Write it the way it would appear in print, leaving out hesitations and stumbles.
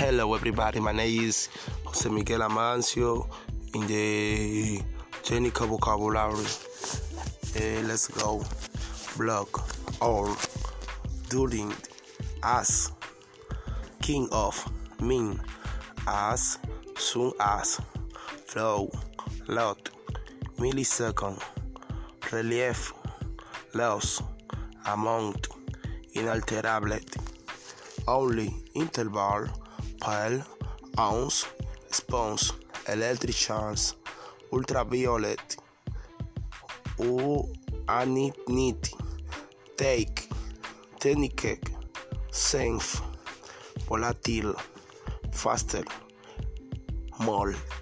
Hello everybody, my name is Jose Miguel Amancio in the technical vocabulary. Let's go. Block, or, during, as, king of, mean, as, soon as, flow, lot, millisecond, relief, loss, amount, inalterable, only, interval, pale, ounce, response, electric charge, ultraviolet, unity, take, technique, safe, volatile, faster, mole.